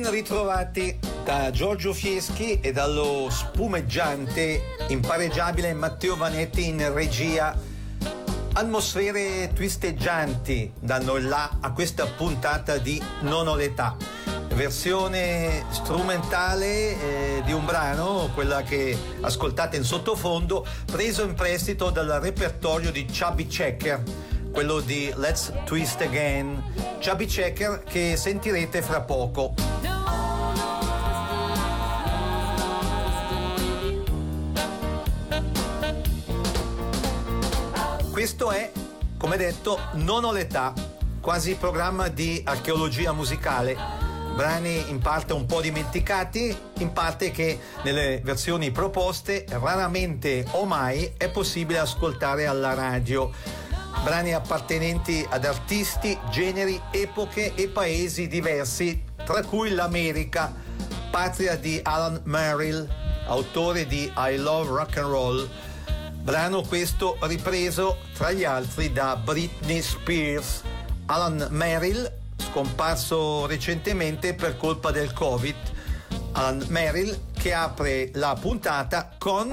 Ben ritrovati da Giorgio Fieschi e dallo spumeggiante, impareggiabile Matteo Vanetti in regia. Atmosfere twisteggianti danno il là a questa puntata di Non ho l'età. Versione strumentale di un brano, quella che ascoltate in sottofondo, preso in prestito dal repertorio di Chubby Checker, quello di Let's Twist Again. Chubby Checker che sentirete fra poco. Questo è, come detto, Non ho l'età, quasi programma di archeologia musicale. Brani in parte un po' dimenticati, in parte che nelle versioni proposte raramente o mai è possibile ascoltare alla radio. Brani appartenenti ad artisti, generi, epoche e paesi diversi, tra cui l'America, patria di Alan Merrill, autore di I Love Rock and Roll. Brano questo ripreso tra gli altri da Britney Spears. Alan Merrill, scomparso recentemente per colpa del Covid. Alan Merrill che apre la puntata con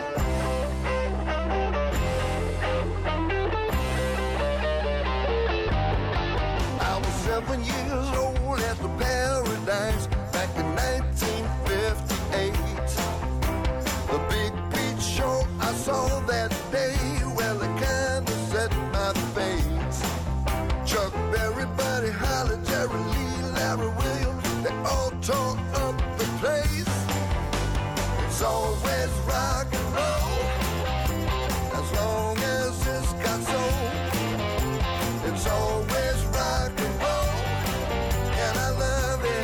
I was 7 years old at the Paradise back in 1958. The big beach show I saw that day, well, it kinda set my face. Chuck Berry, Buddy Holly, Jerry Lee, Larry Williams, they all tore up the place. It's always rock and roll, as long as it's got soul. It's always rock and roll, and I love it.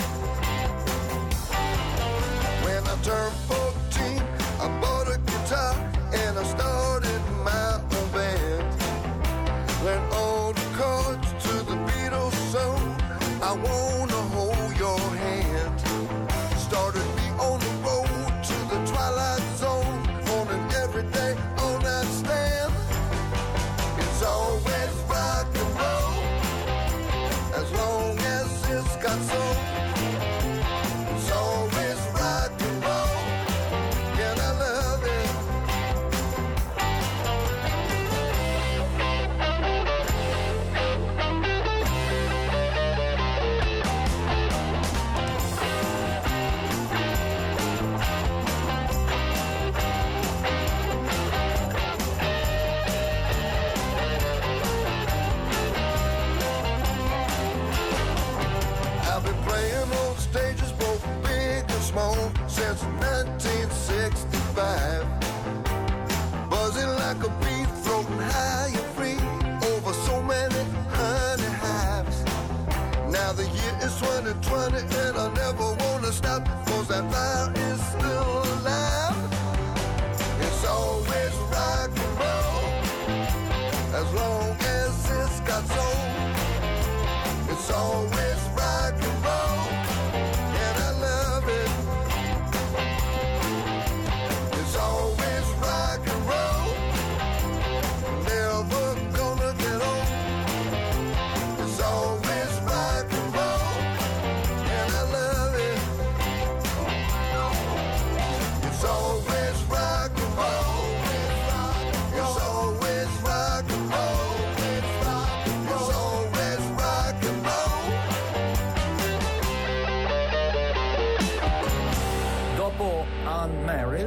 When I turned 14, I bought a guitar and I started my own band. Learned all the chords to the Beatles song, I wanna hold your hand. Started me on the road to the Twilight Zone, on an everyday all-night stand. It's always rock and roll, as long as it's got soul. It's always rock and roll, and I love it. I've been playing on stages both big and small since 1965. Buzzing like a bee, floating high and free over so many honey hives. Now the year is 2020 and I never wanna stop, 'cause that fire is still alive. It's always rock and roll, as long as it's got soul. It's always rock and roll, and I love it. It's always rock and roll, never gonna get old. It's always rock and roll, and I love it. It's always rock and roll. It's always rock and roll. It's always rock and roll. dopo Alan Merrill,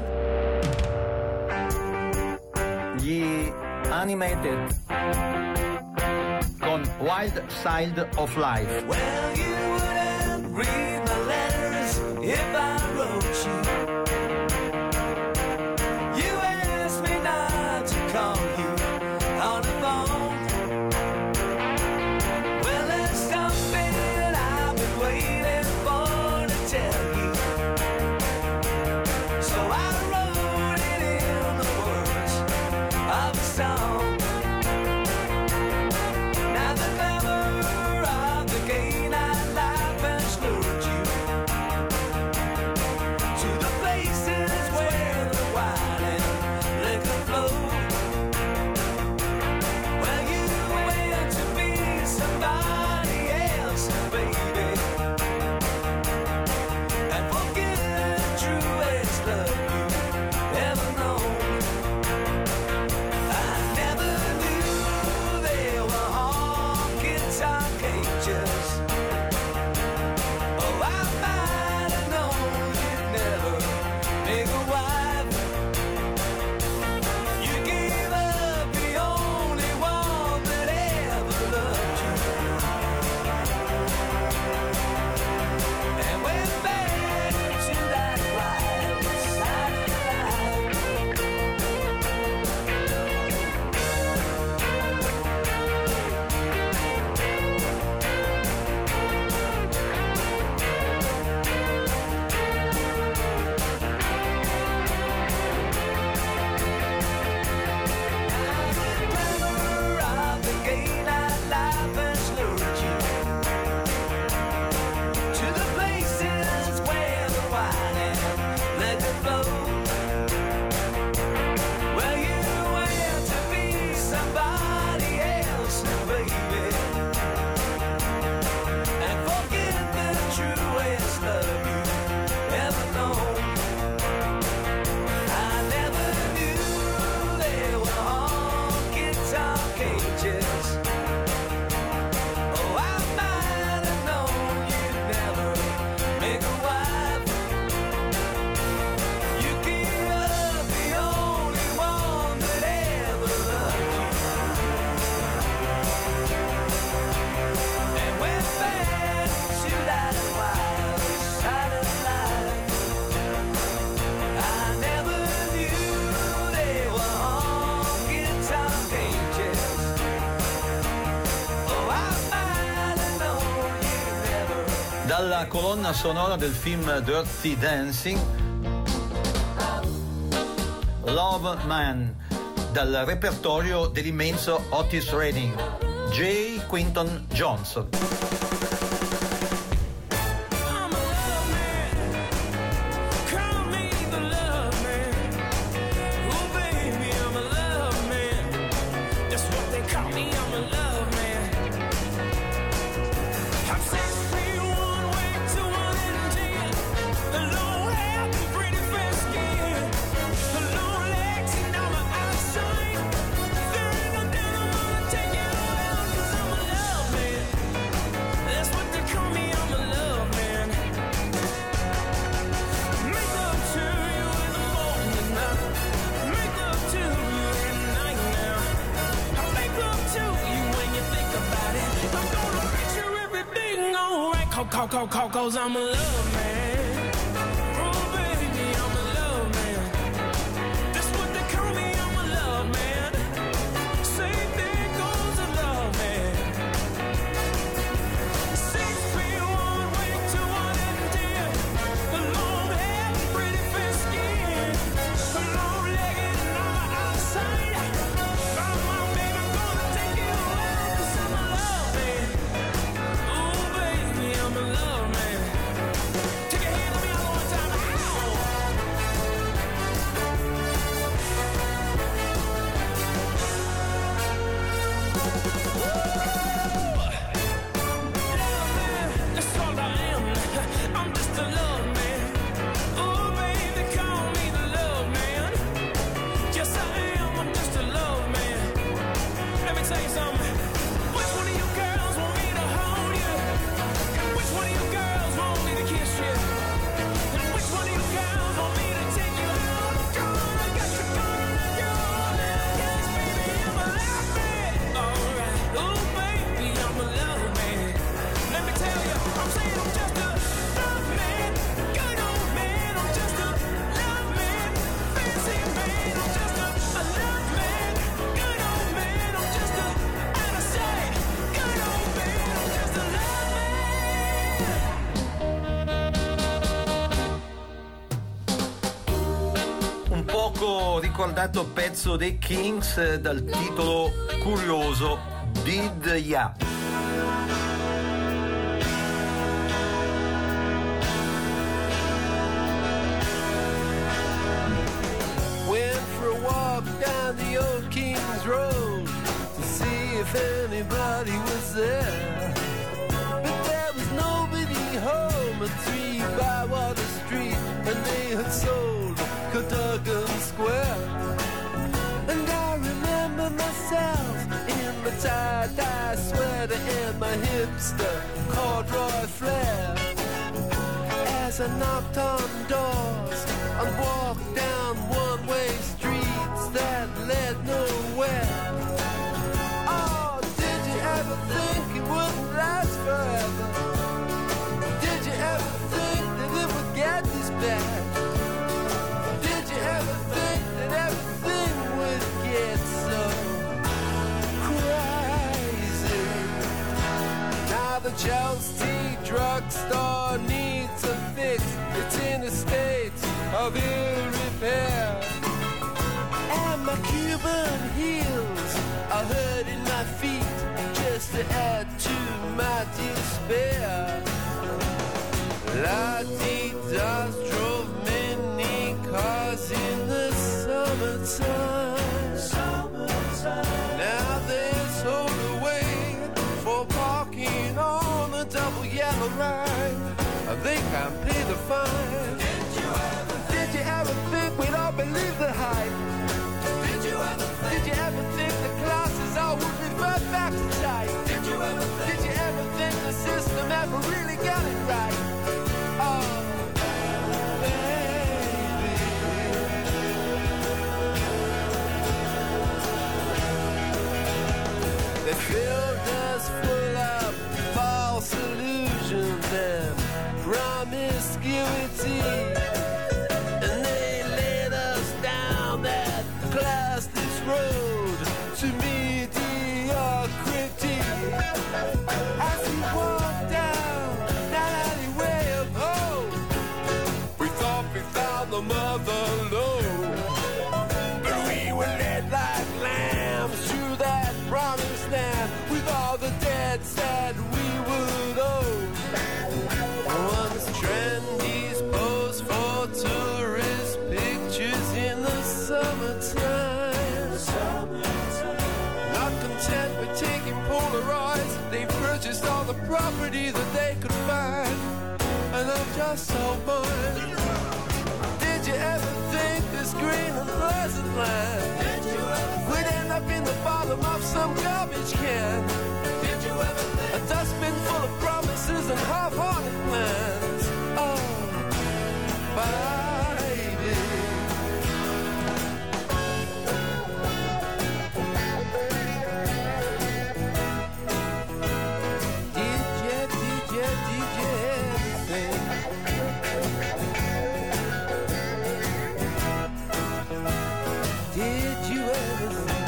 gli Animated con Wild Side of Life. Well, you wouldn't read my letters if I wrote you. You asked me not to call you on the phone. Well, there's something that I've been waiting for to tell you. So I wrote it in the words of a song. Now the glamour of the gay nightlife has lured you. la colonna sonora del film Dirty Dancing, Love Man, dal repertorio dell'immenso Otis Redding, J. Quinton Jones. Cause I'm a love man. Oh baby, I'm a love man. That's what they call me, I'm a love man. Same thing goes a love man. 6 feet 1 way to 1 and 10. The long hair, pretty fair skin. The long legged and all my outside. Come on baby, I'm gonna take you out. Cause I'm a love man. Oh baby, I'm a love man. Ricordato pezzo dei Kings dal titolo curioso Did Ya. Went for a walk down the old Kings Road to see if anybody was there, but there was nobody home at 3 Bywater Street, and they had sold Cadogan Square. And I remember myself in my tie-dye sweater and my hipster corduroy flare, as I knocked on doors and walked down one-way streets that led nowhere. Oh, did you ever think it wouldn't last forever? Did you ever think that it would get this bad? Ever think that everything would get so crazy? Now the Chelsea drugstore needs a fix. It's in a state of ill repair, and my Cuban heels are hurting my feet just to add to my despair. La-dee-das drove many cars in the summertime. Now they're sold away for parking on the double yellow line. They can't pay the fine. Did you ever think we'd all believe the hype? Did you ever think the classes all would revert back to type? Did you ever think the system ever really got it right? Oh, baby. They filled us full of false illusions and promiscuity, and they laid us down that classless road to mediocrity. As we walked down that alleyway, for the load. But we were led like lambs through that promised land with all the debts that we would owe. Once trendies pose for tourist pictures in the summertime. Not content with taking Polaroids, they purchased all the property that they could find. And I'm just so bored. Did you ever think this green and pleasant land would end up in the bottom of some garbage can? Did you ever think a dustbin full of promises and half-hearted plans? Oh, baby. Did you ever think? Did you ever think?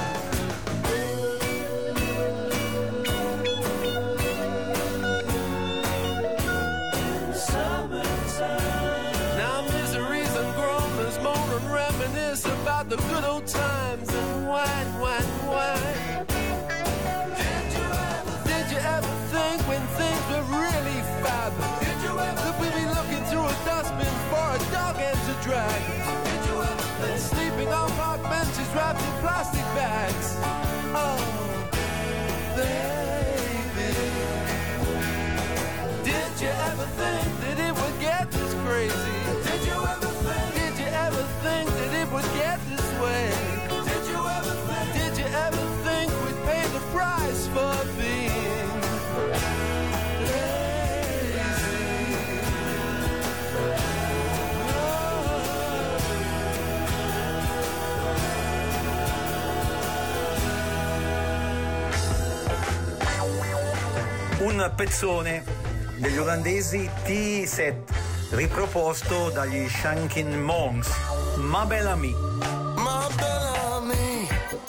Now miseries and groaners moan and reminisce about the good old times and wine, wine, wine. Did you ever think when things were really fab? That we'd be looking through a dustbin for a dog end to drag? And sleeping on park benches wrapped in plastic bags? Oh, baby. Did you ever think that it would get this crazy? Did you ever think that it would get this way? Did you ever think we'd pay the price for being lazy? Un pezzone degli olandesi T-Set riproposto dagli Shanking Monks, Ma Belle Amie. My Bellamy,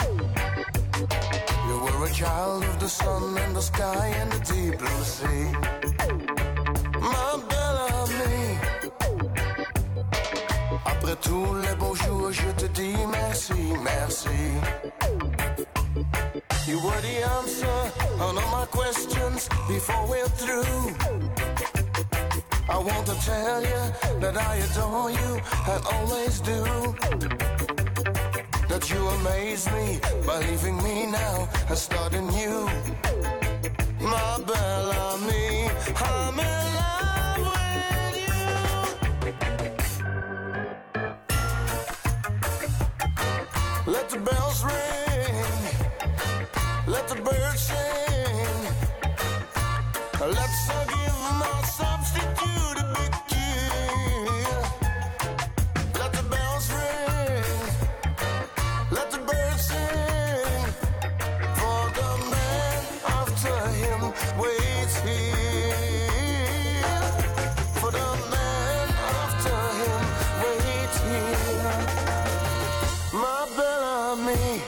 you were a child of the sun and the sky and the deep blue sea. My Bellamy, après tous les beaux jours, je te dis merci, merci. You were the answer on all my questions before we're through. I want to tell you that I adore you and always do. That you amaze me by leaving me now and starting new. My Bellamy, I'm in love with you. Let the bells ring, let the birds sing. Let's give my substitute a big cheer. Let the bells ring, let the birds sing. For the man after him waits here. For the man after him waits here. My Bellamy,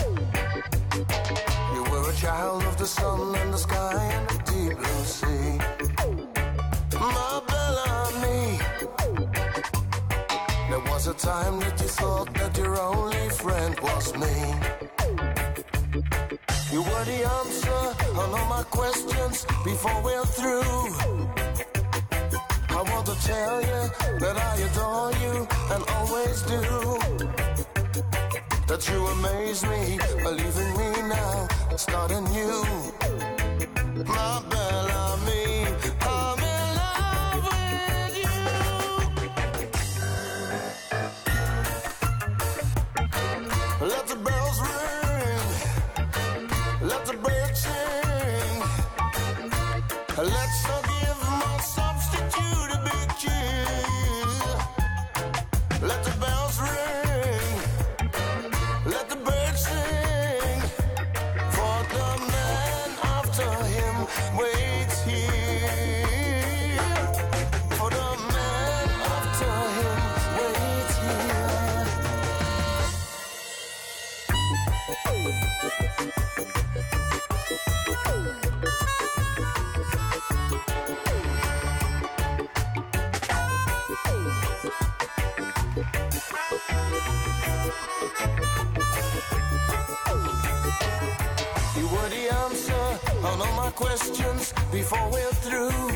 you were a child of the sun and the sky and the deep blue sea. My Bellamy, there was a time that you thought that your only friend was me. You were the answer on all my questions before we're through. I want to tell you that I adore you and always do. That you amaze me by leaving me now, starting new. My Bellamy, I'm in love with you. Let the bells ring, let the birds sing. Let's give my substitute a big cheer. Let the bells ring, let the birds sing. For the man after him waits on all my questions before we're through.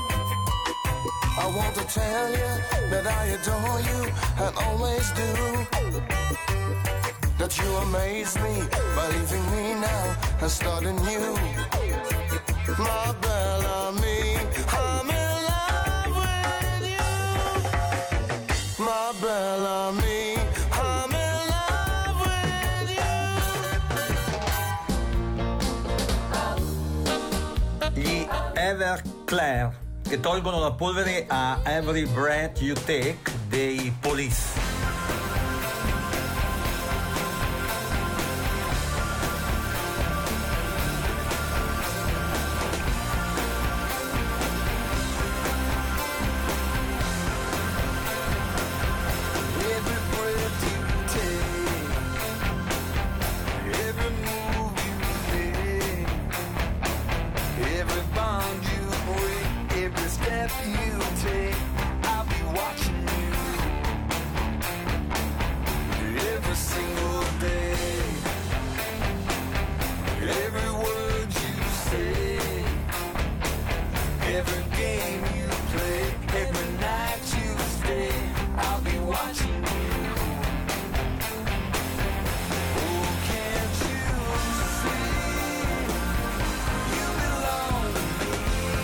I want to tell you that I adore you and always do. That you amaze me by leaving me now and starting new. My Bellamy, I'm in love with you. My Bellamy, I'm in love with you. Gli Everclear, che tolgono la polvere a Every Breath You Take dei Police. Every breath you take, every move you make, every bond you break, every step you take, I'll be watching you. Every single day, every word you say, every game you play, every night you stay, I'll be watching you. Oh, can't you see you belong to me?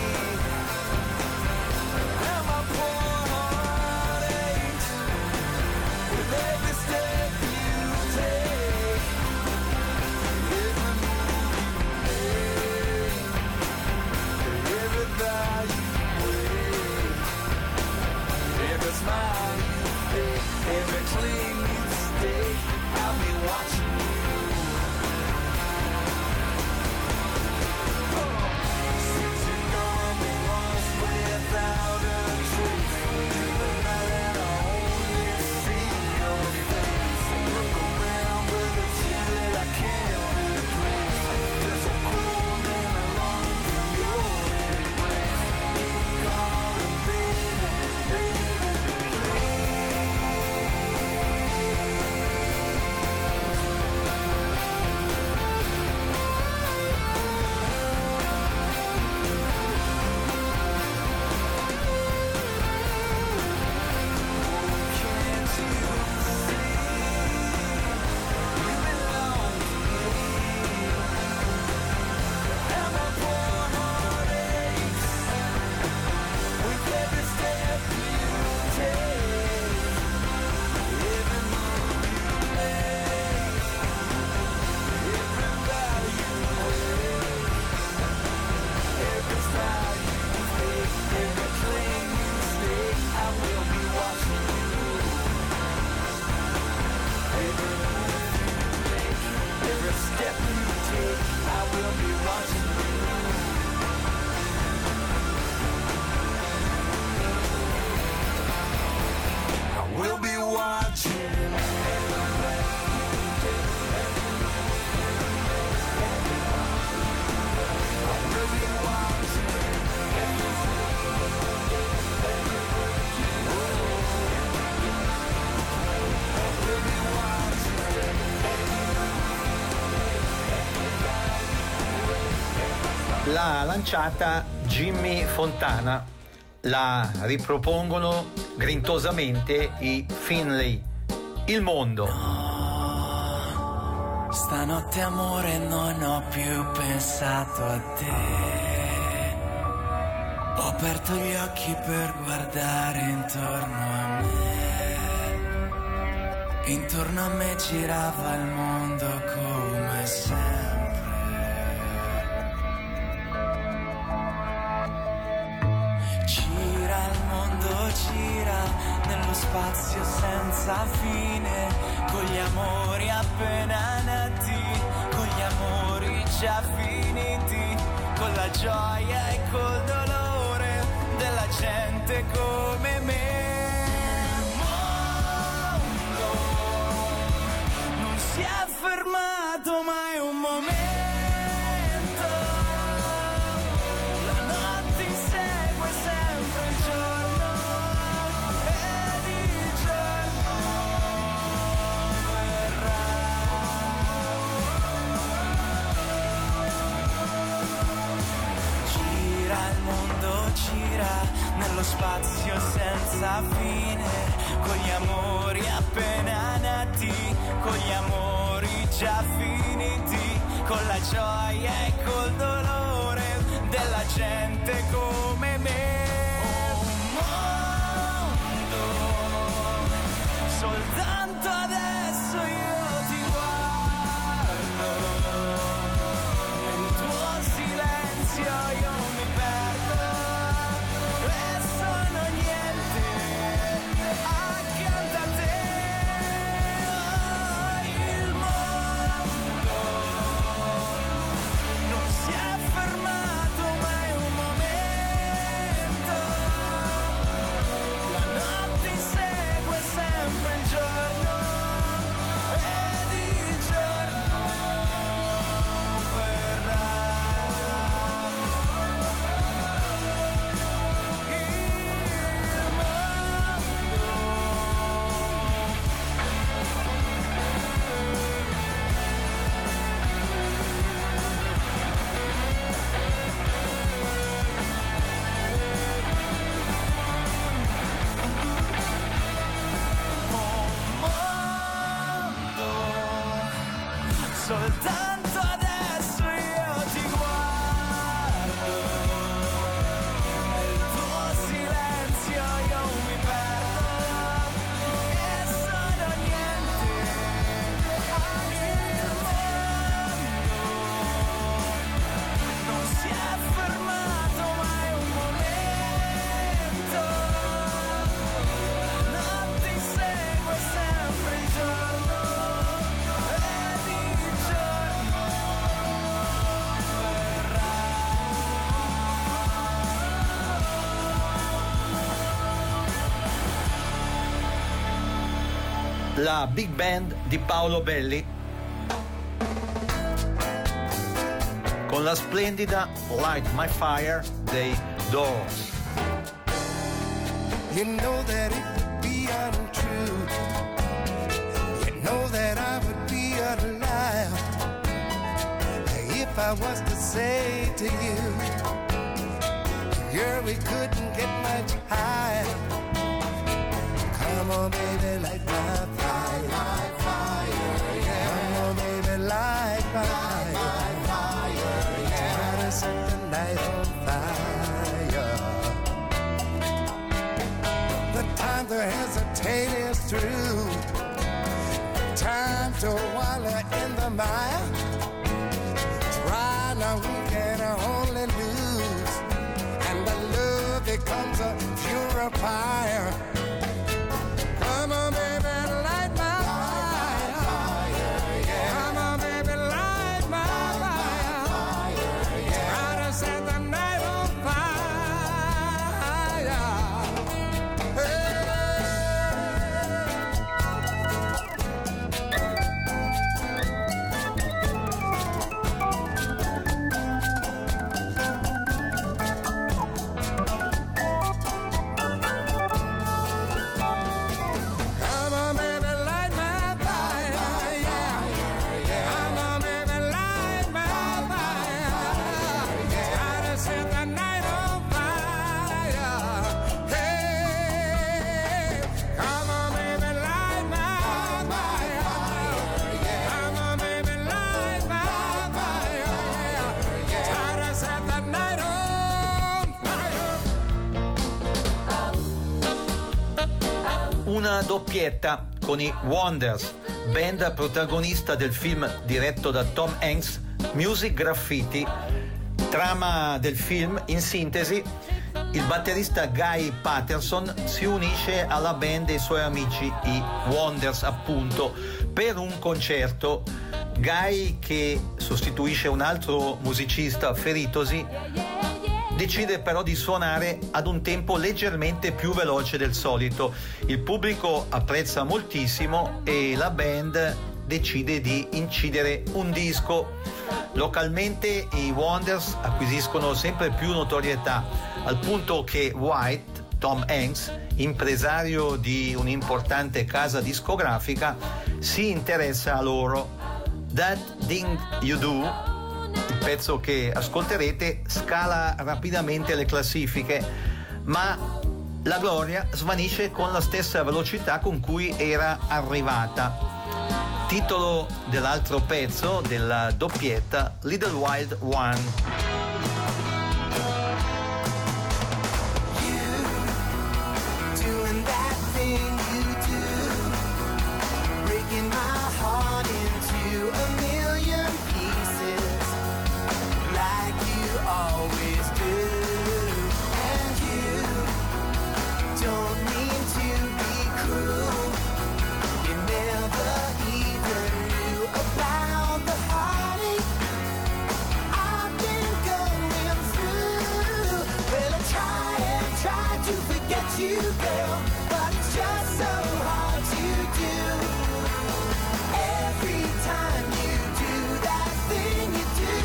And my poor heart aches with every step you take, every move you make, every bow you wave, every smile you fake, every cling you stay, I'll be watching you. Since you're gone, we lost without a trace. The night that I only see your face. Look around, but it's you that I can't replace. There's a cold and a longing for your embrace. Calling, baby, baby, can't you see you belong to me? And my poor heart aches with every step you take, every move you make, every bow you wave, every smile you fake, every cling you stay, I will be watching you. Every move you make, every step you take, I will be watching you. I will be watching. I will be watching. I will be watching. L'ha lanciata Jimmy Fontana, la ripropongono grintosamente i Finlay. Il mondo. Stanotte amore non ho più pensato a te. Ho aperto gli occhi per guardare intorno a me. Intorno a me girava il mondo come sempre. Gira il mondo, gira nello spazio senza fine, con gli amori appena nati, con gli amori già finiti, con la gioia e col dolore della gente come me. Il mondo non si è fermato mai un momento. La notte insegue sempre il giorno ed il giorno verrà. senza fine, con gli amori appena nati, con gli amori già finiti, con la gioia e col dolore della gente come me. Soltanto adesso io ti guardo, nel tuo silenzio io mi perdo e sono niente accanto a te. Il mondo non si è fermato mai un momento, la notte insegue sempre il giorno. Soltanto adesso io ti guardo, nel tuo silenzio io mi perdo e sono niente. Il mondo non si è fermato mai un momento, la notte insegue sempre il giorno. La big band di Paolo Belli con la splendida Light My Fire dei Doors. You know that it would be untrue. You know that I would be a liar if I was to say to you, girl, we couldn't get much higher. Come on, baby, light my fire. Yeah. Come on, baby, light my fire. Yeah. Try to set the night on fire. The time to hesitate is through. Time to wallow in the mire. Try now, we can only lose, and the love becomes a purifier. Come on, baby, light my fire. Yeah. Come on, baby, light my fire. Yeah. Try to set the night on fire. Hey. Una doppietta con i Wonders, band protagonista del film diretto da Tom Hanks, Music Graffiti. Trama del film, in sintesi: il batterista Guy Patterson si unisce alla band dei suoi amici, i Wonders appunto, per un concerto. Guy, che sostituisce un altro musicista feritosi, decide però di suonare ad un tempo leggermente più veloce del solito. Il pubblico apprezza moltissimo e la band decide di incidere un disco. Localmente i Wonders acquisiscono sempre più notorietà, al punto che White, Tom Hanks, impresario di un'importante casa discografica, si interessa a loro. That Thing You Do, il pezzo che ascolterete, scala rapidamente le classifiche, ma la gloria svanisce con la stessa velocità con cui era arrivata. Titolo dell'altro pezzo, della doppietta, Little Wild One. You, girl, but it's just so hard to do. Every time you do that thing you do,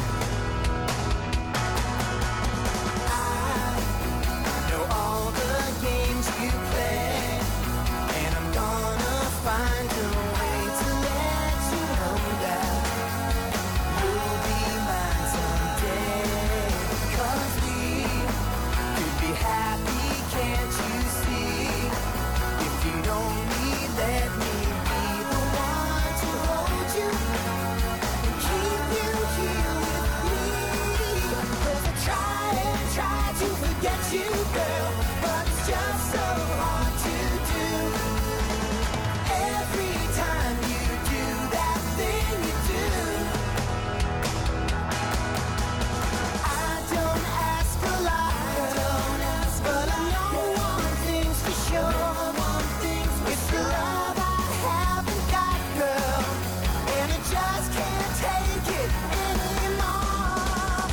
I know all the games you play, and I'm gonna find a way to let you know that you'll be mine someday. 'Cause we could be happy. Can't you see? If you'd only let me be the one to hold you and keep you here with me. 'Cause I try to forget you, girl, but it's just so hard to do. Every time you do that thing you do, I don't ask a lot, but I know one thing's for sure. It's the love I haven't got, girl, and I just can't take it anymore.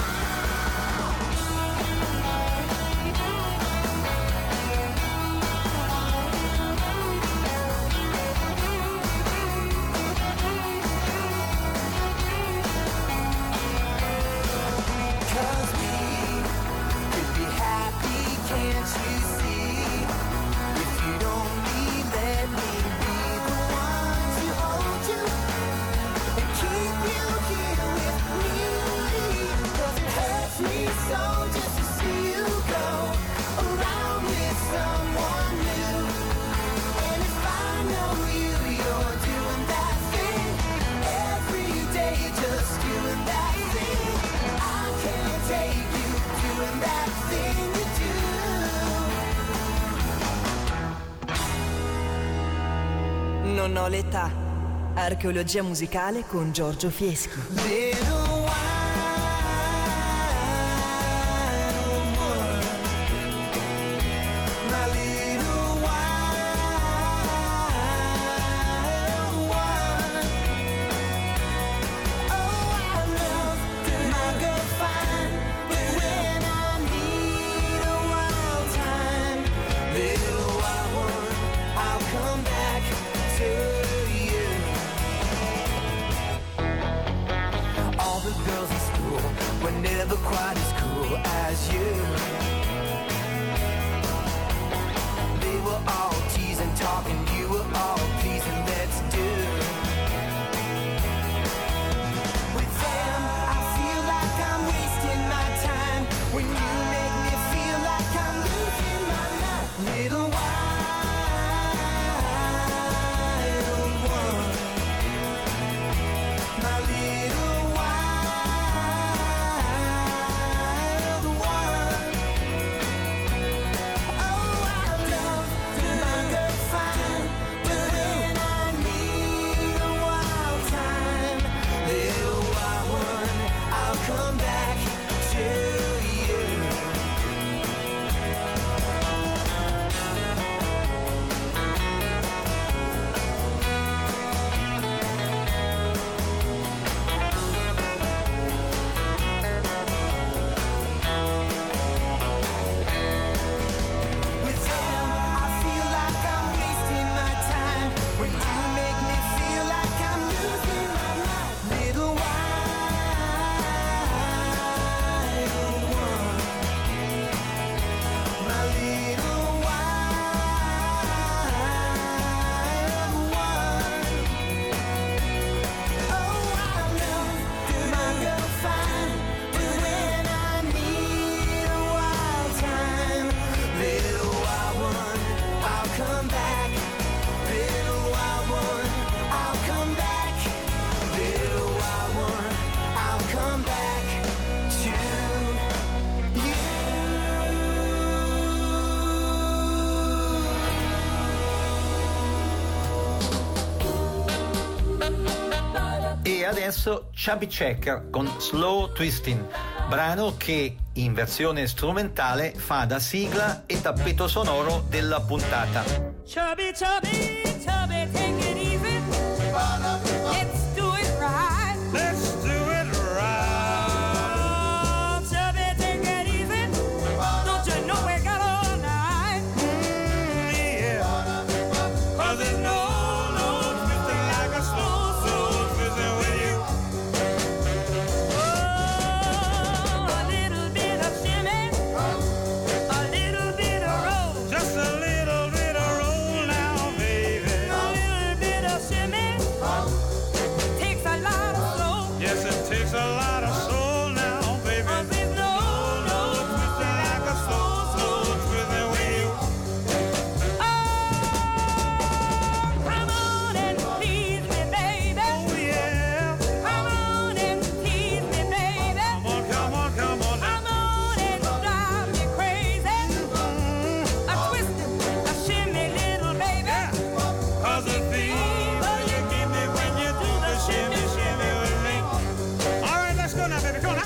Cause we could be happy, can't you see? If you'd only let me be the one to hold you and keep you here with me. 'Cause it hurts me so just to see you go around with someone new. And if I know you're doing that thing every day, just doing that thing, I can't take you doing that thing you do. Non ho l'età. Archeologia musicale con Giorgio Fieschi. Little wild one, my little wild one. Oh, I love my girl fine, but when I need a wild time, little wild one, I'll come back to you. All the adesso Chubby Checker con Slow Twisting, brano che in versione strumentale fa da sigla e tappeto sonoro della puntata. Chubby, chubby, chubby, take it easy. Let's do it right. Let's do it right. Chubby, take it easy. Don't you know we got all night? Yeah. 'Cause there's no twisting like a slow twisting with you. Oh, a little bit of shimmy, a little bit of roll. Just a little bit of roll now, baby. A little bit of shimmy takes a lot of soul. Yes, it takes a lot of soul now, baby. 'Cause there's no twisting like a slow twisting with you. Oh, come on and please me, baby. Oh yeah. Come on and tease me, baby. Come on, come on, come on. Come on and drive me crazy. A twisting, a shimmy, little baby. 'Cause the fever you give me when you do the shimmy, shimmy with me. All right, let's go now, baby. Come on.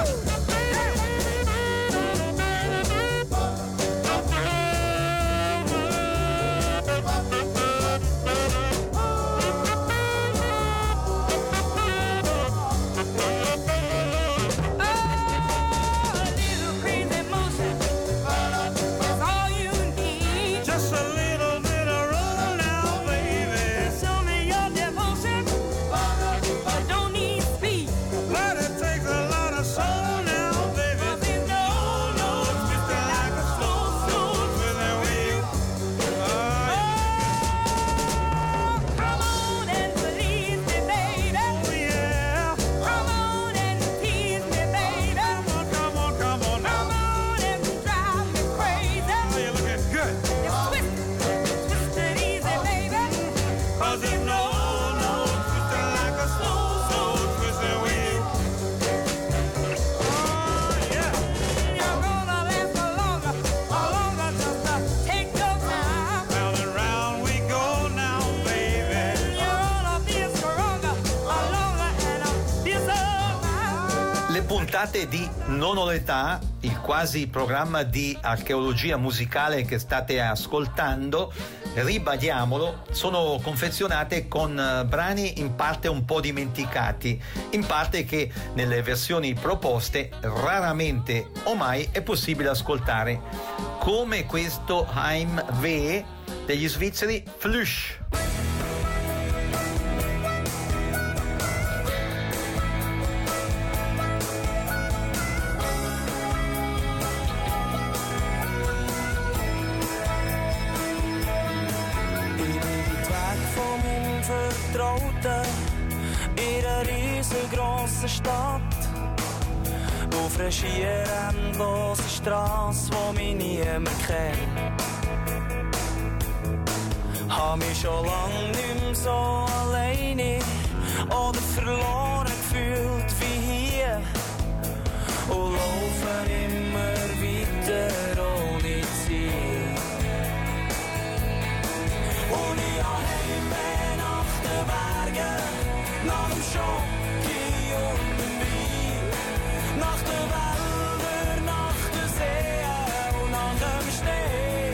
A little crazy motion is all you need. Just a little bit of roll now, baby. Show me your devotion. I don't need speed. But it takes a lot of soul now, baby. 'Cause there's no twisting like a slow twisting with you. Oh, come on and please me, baby. Oh yeah. Come on and tease me, baby. Come on, come on, come on and drive me crazy. Oh, you're looking good. Just twist it easy, baby. 'Cause there's no twisting like a slow twisting with you. Oh yeah. You're gonna last longer just take your time. Round and round we go now, baby. You're gonna be stronger, longer and be so fine. Le puntate di Non ho l'età, il quasi programma di archeologia musicale che state ascoltando, ribadiamolo, sono confezionate con brani in parte un po' dimenticati, in parte che nelle versioni proposte raramente o mai è possibile ascoltare, come questo Heim Weh degli svizzeri Flush. Ich bin weit weg von meinem Vertrauten in einer riesengroßen Stadt. Auf einer schier endlosen Strasse, die mich niemand kennt. Hab mich schon lang nicht mehr so alleine oder verloren gefühlt wie hier. Und laufen immer weiter ohne Ziel. Und ich habe Heimweh nach den Bergen, nach dem Schoki und dem Wein, nach den Wäldern, nach den Seen und nach dem Schnee.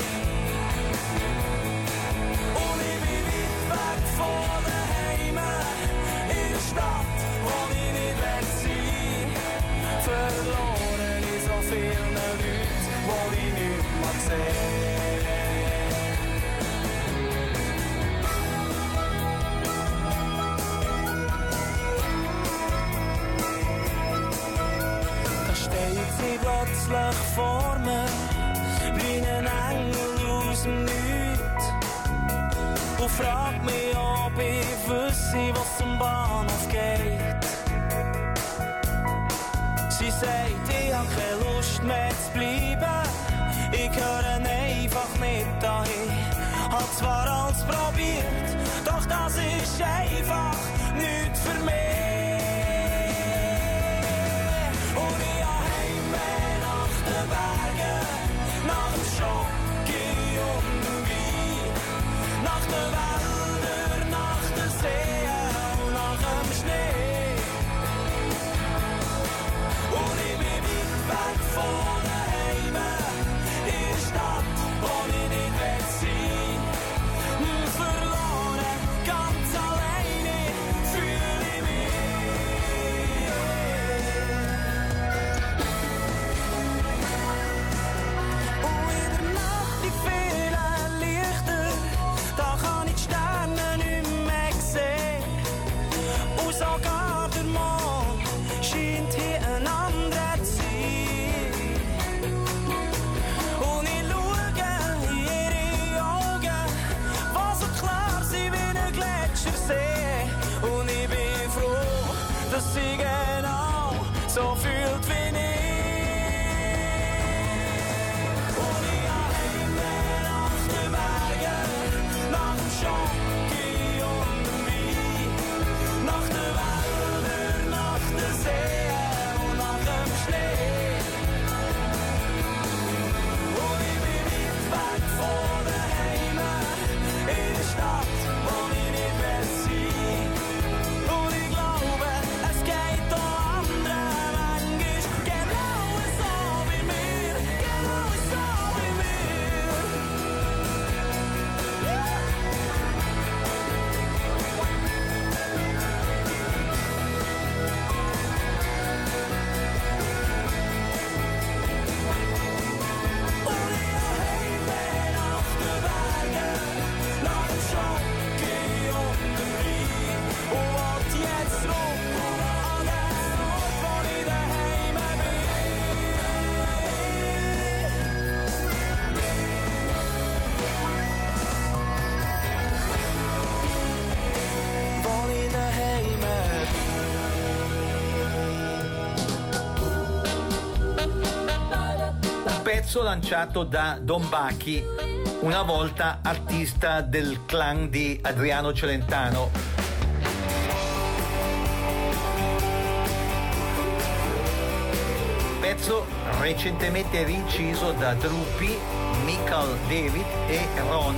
Und ich bin weit weg von daheim, in der Stadt, wo ich nicht will sein. Verloren in so vielen Leuten, wo ich nicht mehr sehe. Da steht sie plötzlich vor mir, wie ein Engel aus dem Nichts. Und fragt mich, ob ich wüsste, was zum Bahnhof geht. Sie sagt, ich hab keine Lust mehr zu bleiben. Ich gehöre einfach nicht dahin. Hab zwar alles probiert, doch das ist einfach nichts für mich. Und ich hab Heimweh nach den Bergen, nach dem Schoki und dem Wein, nach den Wäldern, nach den Seen und nach dem Schnee. dat zie ik nou, zo voelt wie niet. Und ich heim bin auf den Bergen, nach dem Schoki und dem Wein, nach den Wäldern, nach den Seen und nach dem Schnee. Und ich bin weit weg von daheim, in der Stadt, wo ich nicht will sein. Und ich glaube, es geht auch anderen manchmal genau so wie mir, genau so wie mir. Und ich heim bin auf den Bergen, nach dem Schoki und dem Wein. Und wollt jetzt zurück an den Ort, wo ich daheim bin. Wo ich daheim Un pezzo lanciato da Don Bachi, una volta artista del clan di Adriano Celentano. Pezzo recentemente rinciso da Drupi, Michael David e Ron.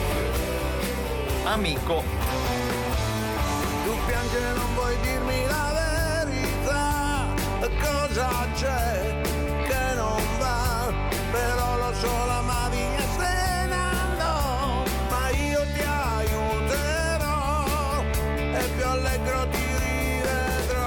Amico. Tu piangi e non vuoi dirmi la verità, cosa c'è che non va, però lo so l'amavi e se ne andò, ma io ti aiuterò e più allegro ti rivedrò.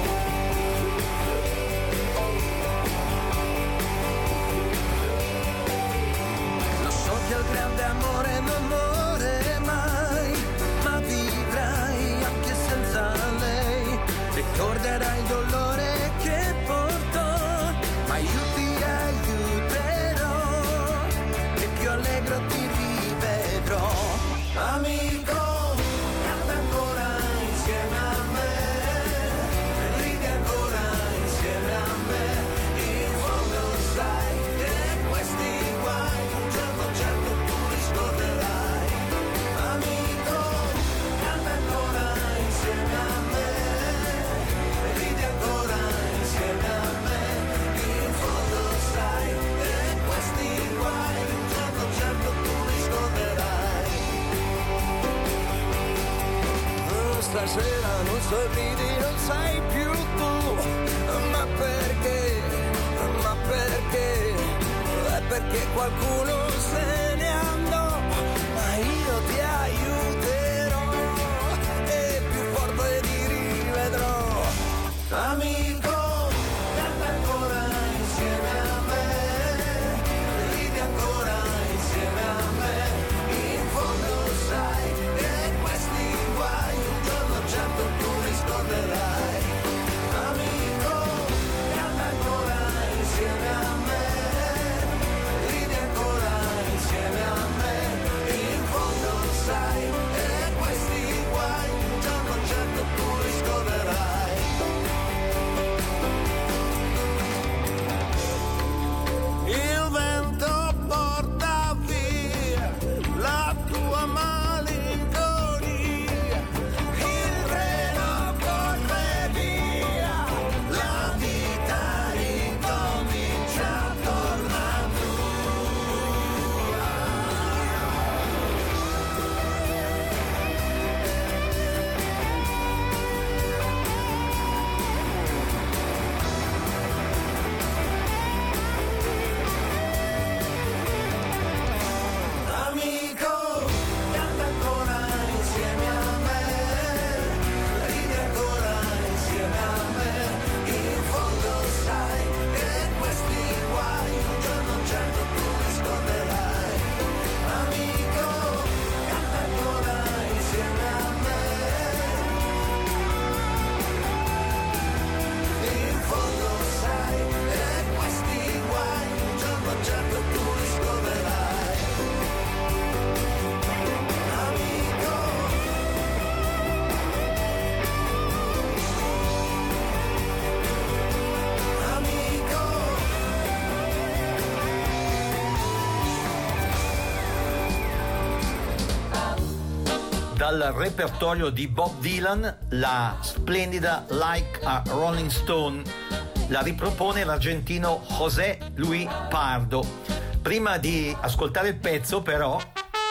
Lo so che il grande amore non muore mai, ma vivrai anche senza lei. Ricorderai il dolore che portò, ma io ti aiuterò e più allegro ti rivedrò. Amico, canta ancora insieme a me, ridi ancora insieme a me, in fondo sai che questi guai un giorno certo tu li scorderai. Amico, canta ancora insieme a me, ridi ancora insieme a me, in fondo sai che questi guai un giorno certo tu li scorderai. Stasera non sorridi, non sei più tu, ma perché? Ma perché? È perché qualcuno se ne andò, ma io ti aiuterò e più forte ti rivedrò. Amico, canta ancora insieme a me, ridi ancora insieme a me, in fondo sai che questi guai un giorno certo tu li scorderai. Amico, canta ancora insieme a me, ridi ancora insieme dal repertorio di Bob Dylan, la splendida Like a Rolling Stone. La ripropone l'argentino José Luis Pardo. Prima di ascoltare il pezzo, però,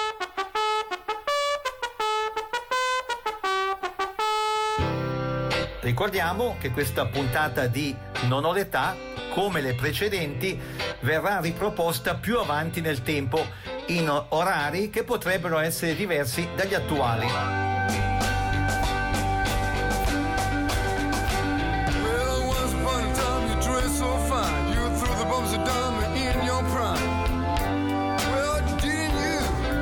ricordiamo che questa puntata di Non ho l'età, come le precedenti, verrà riproposta più avanti nel tempo in orari che potrebbero essere diversi dagli attuali. Well, once upon a time you dressed so fine. You threw the bumps of diamond in your prime. Well, didn't you?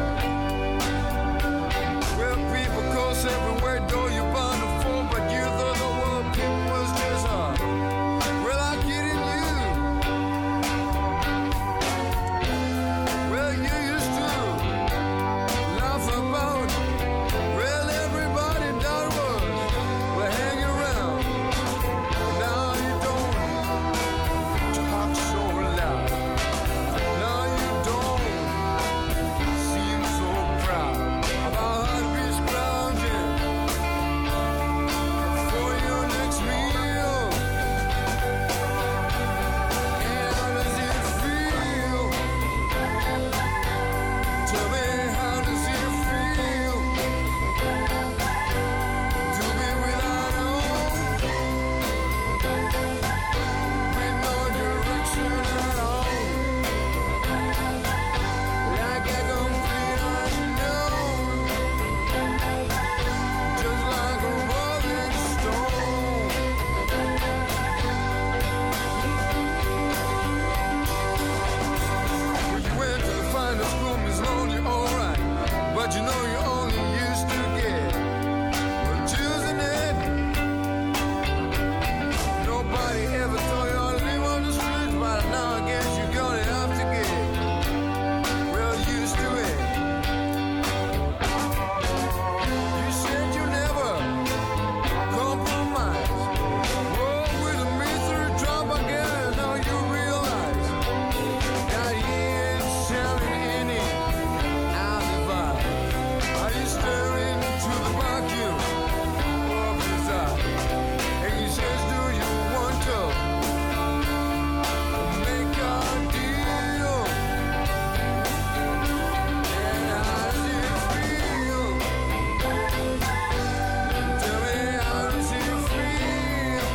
Well, people close everywhere, door you bound to fall, but you thought the world was just hard. Well, I get in you. Well, you used to laugh about. Well, everybody that was hanging around. Now you don't talk so loud. Now you don't seem so proud about heartbeats grounding for your next meal. And how does it feel? Tell me, how does it feel to be without home, with no direction at all, like a complete unknown, just like a rolling stone. Well, you went to the finest school, Miss Lonely, alright, but you know you only used to get choosing it. Nobody ever told you how to live on the streets, but now I guess you're gonna have to get well used to it. You said you never compromise. Roll with me through drop again, now you realize that he ain't selling any alibi. Are you staring into the vacuum of his eye? And he says, do you want to make a deal? And how does it feel? Tell me, how does it feel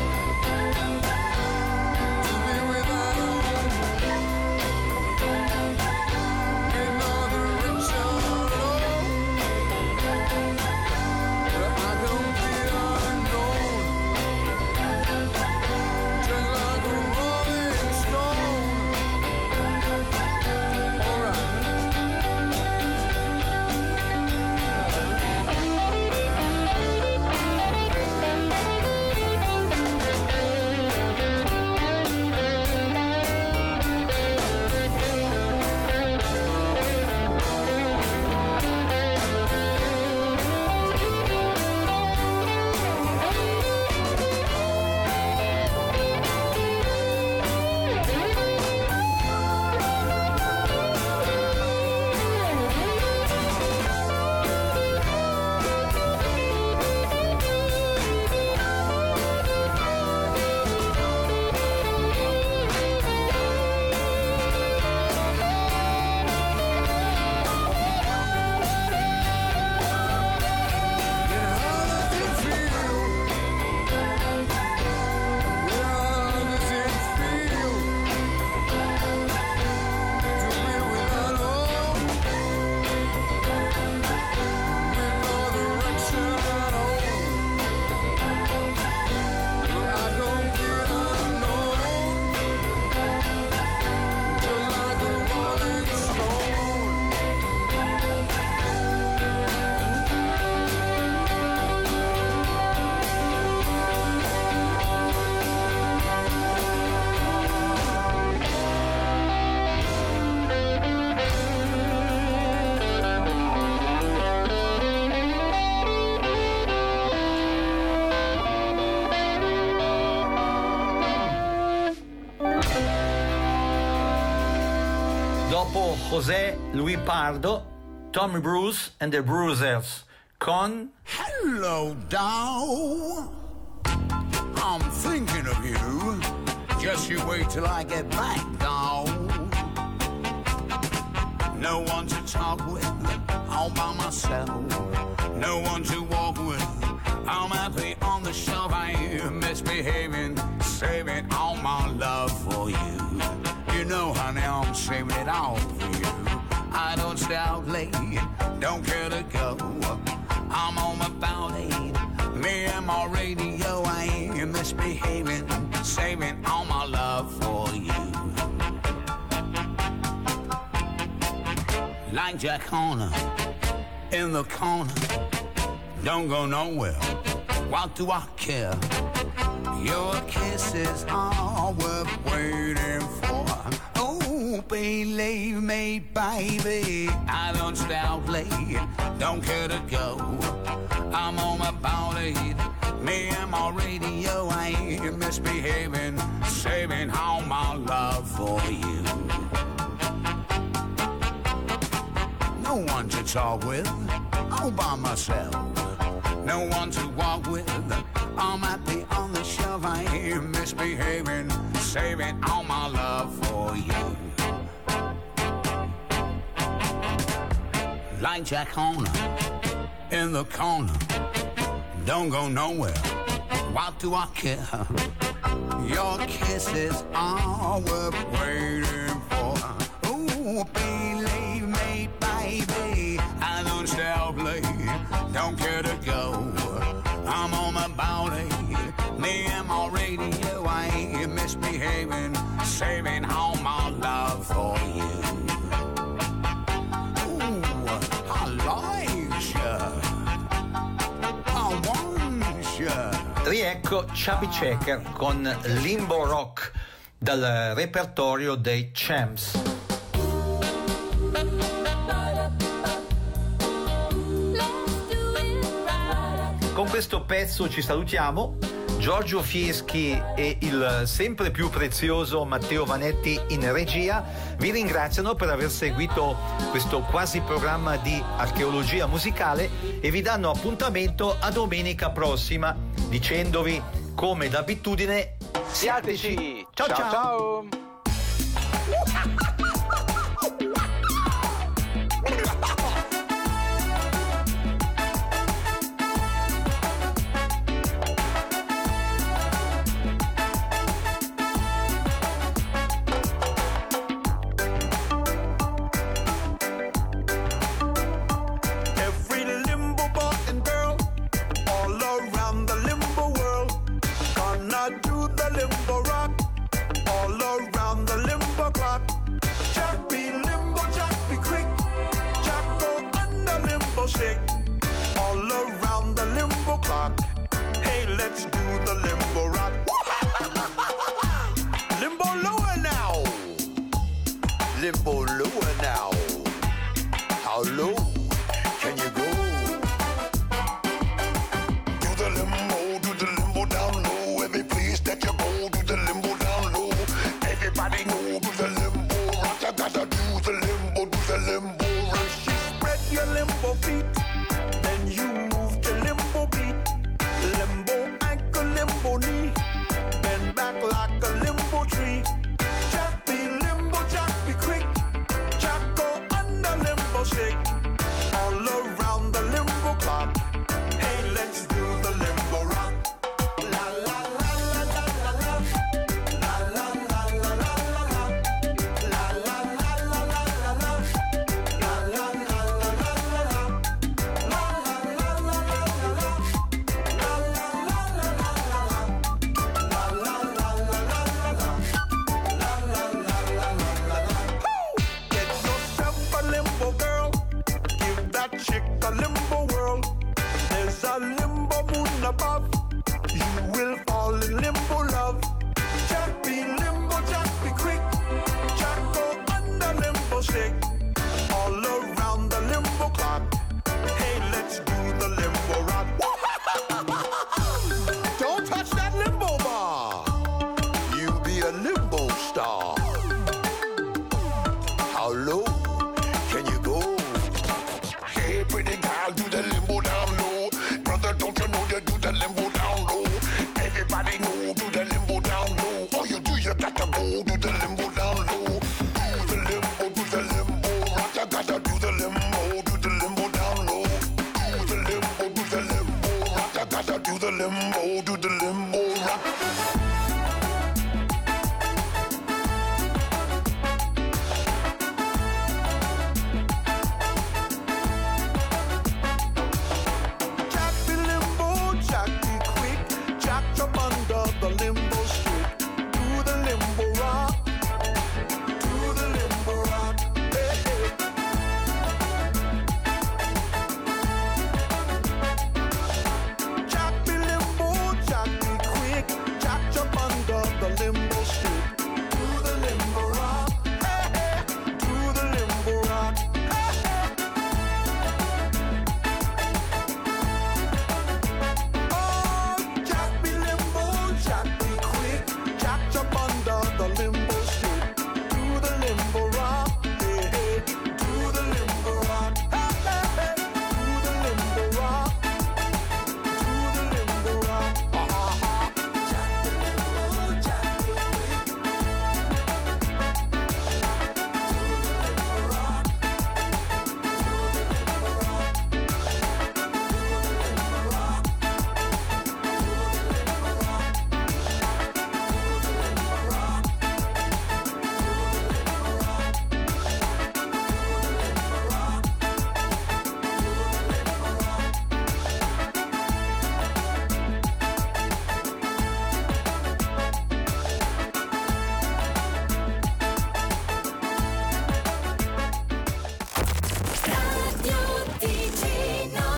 to be without home, with no direction at all? But I don't feel unknown, just like a rolling stone. Alright. Dopo José Luis Pardo, Tommy Bruce and the Bruisers con Hello, doll. I'm thinking of you. Just you wait till I get back, doll. No one to talk with, all by myself. No one to walk with. I'm happy on the shelf. I am misbehaving, saving all my love for you. You know, honey, I'm saving it all for you. I don't stay out late, don't care to go. I'm on my ballet, me and my radio. I am misbehaving, saving all my love for you. Like Jack Horner in the corner, don't go nowhere. What do I care? Your kisses are worth waiting for. Oh, believe me, baby, I don't stay out late, don't care to go. I'm on my ballet, me and my radio. I ain't misbehaving, saving all my love for you. No one to talk with, all by myself. No one to walk with, I'm happy on the shelf. I am misbehaving, saving all my love for you. Like Jack Horner in the corner, don't go nowhere. What do I care? Your kisses are worth waiting for. Ooh, believe me, baby, I don't stay out late, don't care to go. I'm on my ballet, me and my radio. I ain't misbehaving, saving all my love for you. Ooh, I like you, I want you. Riecco Chubby Checker con Limbo Rock dal repertorio dei Champs. Con questo pezzo ci salutiamo. Giorgio Fieschi e il sempre più prezioso Matteo Vanetti in regia vi ringraziano per aver seguito questo quasi programma di archeologia musicale e vi danno appuntamento a domenica prossima, dicendovi come d'abitudine siateci. Ciao ciao, ciao. Limbo lower now. How low can you go? Do the limbo down low. Every place that you go, do the limbo down low. Everybody know, do the limbo rock. You gotta do the limbo rock. You spread your limbo feet, then you move to limbo beat. Limbo ankle, limbo knee, bend back like a limbo tree. Jack be limbo, Jack be quick. Jack go under limbo shake. All around the limbo clock. Hey, let's do the limbo rock. La la la la la la la. La la la la la la la. La la la la la la la. La la la la la la la. La la la la la la la. La la la la la la la. La la la la la la. La la la la la la. Get yourself a limbo girl. Give that chick a limbo whirl. There's a limbo moon above. You will fall in limbo love. Jack be limbo, Jack be quick. Jack go under limbo shake. All around the limbo clock. Hey, let's do the limbo rock. Don't touch that limbo bar. You be a limbo star. How low can you go? Hey, pretty girl.